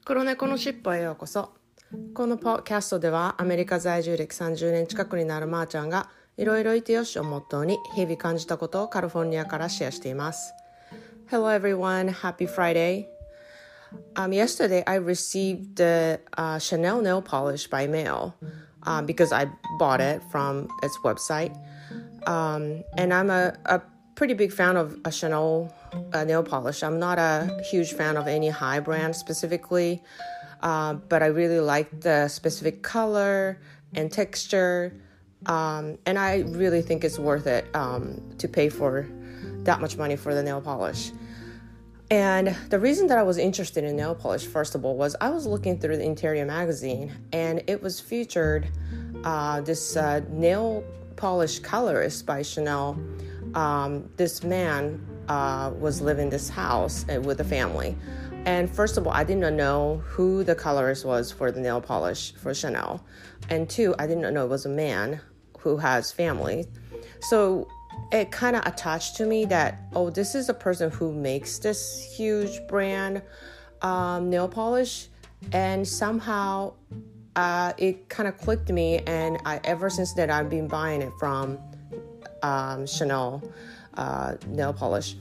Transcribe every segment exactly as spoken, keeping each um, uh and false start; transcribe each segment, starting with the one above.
黒猫のしっぽへようこそ。このポッドキャストではアメリカ在住歴さんじゅうねん近くになるまーちゃんがいろいろいてよしをモットーに日々感じたことをカリフォルニアからシェアしています。 Hello everyone, happy Friday.Um, yesterday I received the uh, Chanel nail polish by mail uh, because I bought it from its website. Um, and I'm a, a pretty big fan of a Chanel uh, nail polish. I'm not a huge fan of any high brand specifically, uh, but I really like the specific color and texture. Um, and I really think it's worth it um, to pay for that much money for the nail polish.And the reason that I was interested in nail polish, first of all, was I was looking through the Interior magazine, and it was featured uh, this uh, nail polish colorist by Chanel. Um, this man uh, was living in this house with a family. And first of all, I didn't know who the colorist was for the nail polish for Chanel. And two, I didn't know it was a man who has family. So...it kind of attached to me that, oh, this is a person who makes this huge brand um, nail polish. And somehow uh, it kind of clicked to me. And I, ever since then, I've been buying it from um, Chanel uh, nail polish.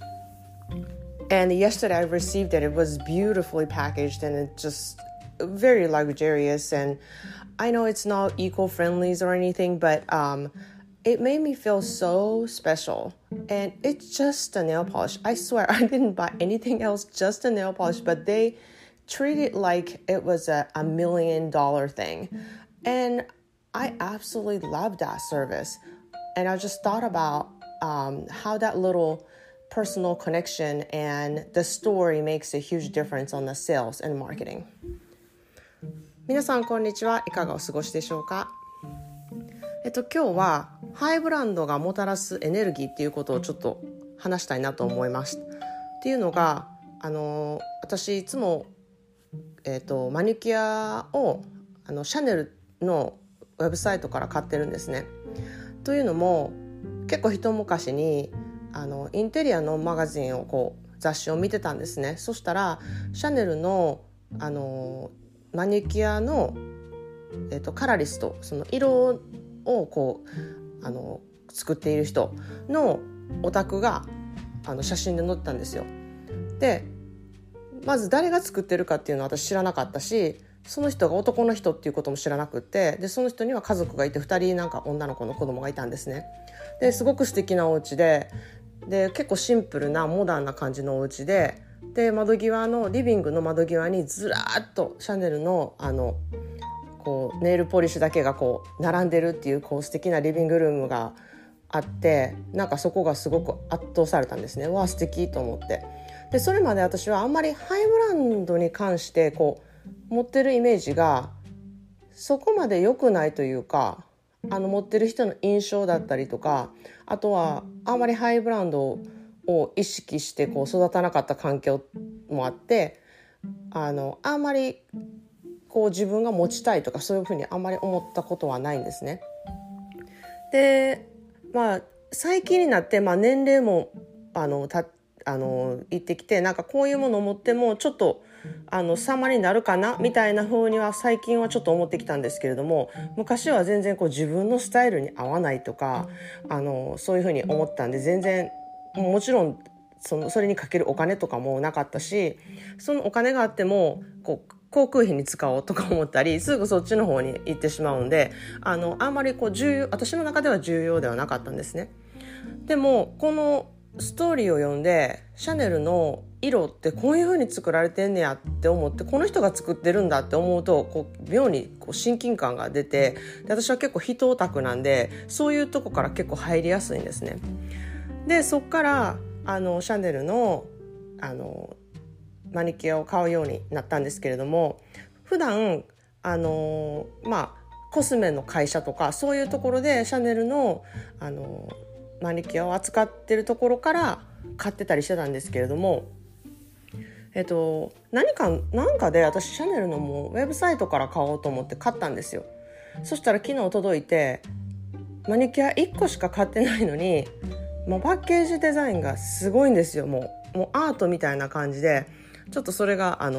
And yesterday I received it. It was beautifully packaged and it just very luxurious. And I know it's not eco-friendly or anything, but... Um, It made me feel so special. And it's just a nail polish. I swear, I didn't buy anything else, just a nail polish. But they treat it like it was a, a million dollar thing. And I absolutely love that service. And I just thought about um, how that little personal connection and the story makes a huge difference on the sales and marketing. 皆さん、こんにちは。いかがお過ごしでしょうか？えっと、今日はハイブランドがもたらすエネルギーっていうことをちょっと話したいなと思います。っていうのが、あの私いつも、えっと、マニキュアをあのシャネルのウェブサイトから買ってるんですね。というのも結構一昔にあのインテリアのマガジンをこう雑誌を見てたんですね。そしたらシャネルの、あのマニキュアの、えっと、カラリスト、その色をこうあの作っている人のお宅があの写真で載ってたんですよ。でまず誰が作ってるかっていうのは私知らなかったし、その人が男の人っていうことも知らなくって、でその人には家族がいてふたりなんか女の子の子供がいたんですね。ですごく素敵なお家で、で結構シンプルなモダンな感じのお家で、で窓際のリビングの窓際にずらーっとシャネルのあのこうネイルポリッシュだけがこう並んでるっていう、こう素敵なリビングルームがあって、なんかそこがすごく圧倒されたんですね。わあ素敵と思って。でそれまで私はあんまりハイブランドに関してこう持ってるイメージがそこまで良くないというか、あの持ってる人の印象だったりとか、あとはあんまりハイブランドを意識してこう育たなかった環境もあって、あのあんまりこう自分が持ちたいとかそういうふうにあんまり思ったことはないんですね。で、まあ最近になって、まあ、年齢もあのたあのいってきて、なんかこういうものを持ってもちょっとあの様になるかなみたいな風には最近はちょっと思ってきたんですけれども、昔は全然こう自分のスタイルに合わないとか、あのそういうふうに思ったんで、全然もちろんそのそれにかけるお金とかもなかったし、そのお金があってもこう航空費に使おうとか思ったり、すぐそっちの方に行ってしまうんで、あのあんまりこう重要、私の中では重要ではなかったんですね。でもこのストーリーを読んで、シャネルの色ってこういう風に作られてんねやって思って、この人が作ってるんだって思うと、こう妙にこう親近感が出て、で私は結構人オタクなんで、そういうとこから結構入りやすいんですね。でそっからあのシャネルのあのマニキュアを買うようになったんですけれども、普段あのまあコスメの会社とかそういうところでシャネルのあのマニキュアを扱ってるところから買ってたりしてたんですけれども、えっと何か何かで私シャネルのもうウェブサイトから買おうと思って買ったんですよ。そしたら昨日届いて、マニキュアいっこしか買ってないのに、もうパッケージデザインがすごいんですよ。もう、もうアートみたいな感じで、ちょっとそれがあの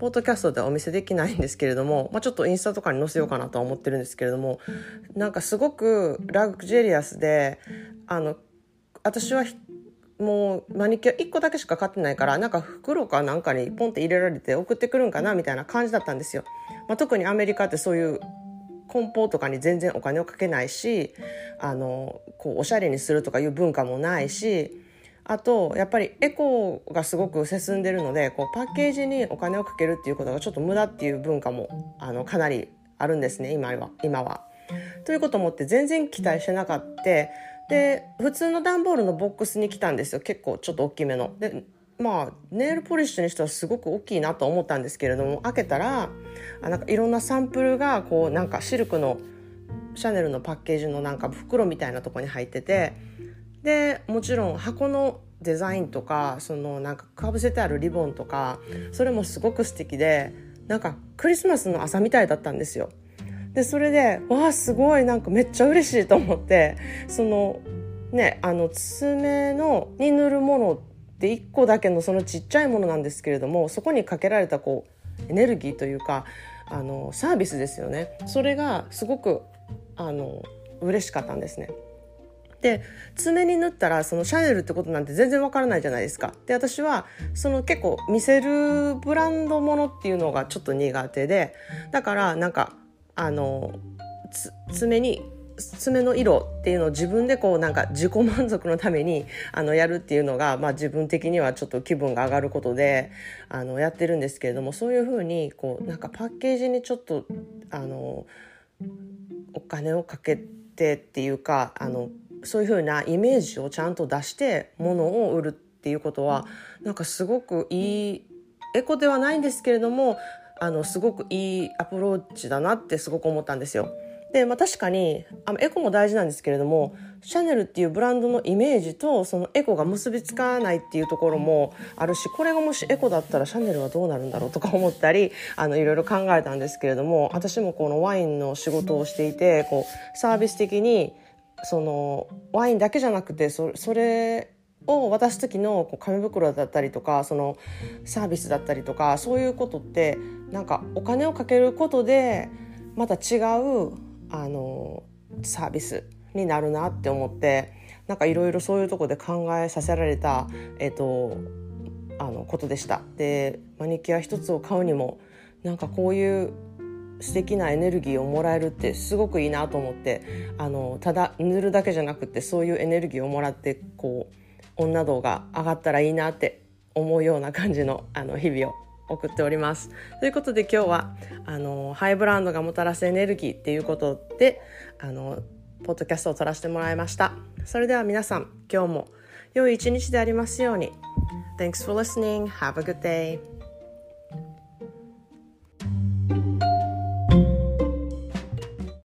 ポッドキャストではお見せできないんですけれども、まあ、ちょっとインスタとかに載せようかなとは思ってるんですけれども、なんかすごくラグジュリアスで、あの私はもうマニキュアいっこだけしか買ってないから、なんか袋かなんかにポンって入れられて送ってくるんかなみたいな感じだったんですよ。まあ、特にアメリカってそういう梱包とかに全然お金をかけないし、あのこうおしゃれにするとかいう文化もないし、あとやっぱりエコがすごく進んでるので、こうパッケージにお金をかけるっていうことがちょっと無駄っていう文化もあのかなりあるんですね、今は今は。ということを思って全然期待してなかった。で普通の段ボールのボックスに来たんですよ。結構ちょっと大きめので、まあネイルポリッシュにしてはすごく大きいなと思ったんですけれども、開けたらあなんかいろんなサンプルがこうなんかシルクのシャネルのパッケージのなんか袋みたいなとこに入ってて、でもちろん箱のデザインとかそのなんかかぶせてあるリボンとか、それもすごく素敵で、なんかクリスマスの朝みたいだったんですよ。でそれでわあすごいなんかめっちゃ嬉しいと思って、そのねあの爪のに塗るものっていっこだけのそのちっちゃいものなんですけれども、そこにかけられたこうエネルギーというかあのサービスですよね。それがすごくあの嬉しかったんですね。で爪に塗ったらそのシャネルってことなんて全然わからないじゃないですか。で私はその結構見せるブランドものっていうのがちょっと苦手で、だからなんかあの爪に爪の色っていうのを自分でこうなんか自己満足のためにあのやるっていうのが、まあ、自分的にはちょっと気分が上がることであのやってるんですけれども、そういうふうにこうなんかパッケージにちょっとあのお金をかけてっていうか、あのそういうふうなイメージをちゃんと出して物を売るっていうことはなんかすごくいい、エコではないんですけれどもあのすごくいいアプローチだなってすごく思ったんですよ。で、まあ、確かにあのエコも大事なんですけれども、シャネルっていうブランドのイメージとそのエコが結びつかないっていうところもあるし、これがもしエコだったらシャネルはどうなるんだろうとか思ったりあのいろいろ考えたんですけれども、私もこのワインの仕事をしていてこうサービス的にそのワインだけじゃなくて そ, それを渡す時のこう紙袋だったりとかそのサービスだったりとか、そういうことってなんかお金をかけることでまた違うあのサービスになるなって思って、なんかいろいろそういうところで考えさせられた、えっと、あのことでした。でマニキュア一つを買うにもなんかこういう素敵なエネルギーをもらえるってすごくいいなと思って、あのただ塗るだけじゃなくてそういうエネルギーをもらってこう女度が上がったらいいなって思うような感じの、あの日々を送っております。ということで今日はあのハイブランドがもたらすエネルギーっていうことであのポッドキャストを撮らせてもらいました。それでは皆さん今日も良い一日でありますように。 Thanks for listening. Have a good day.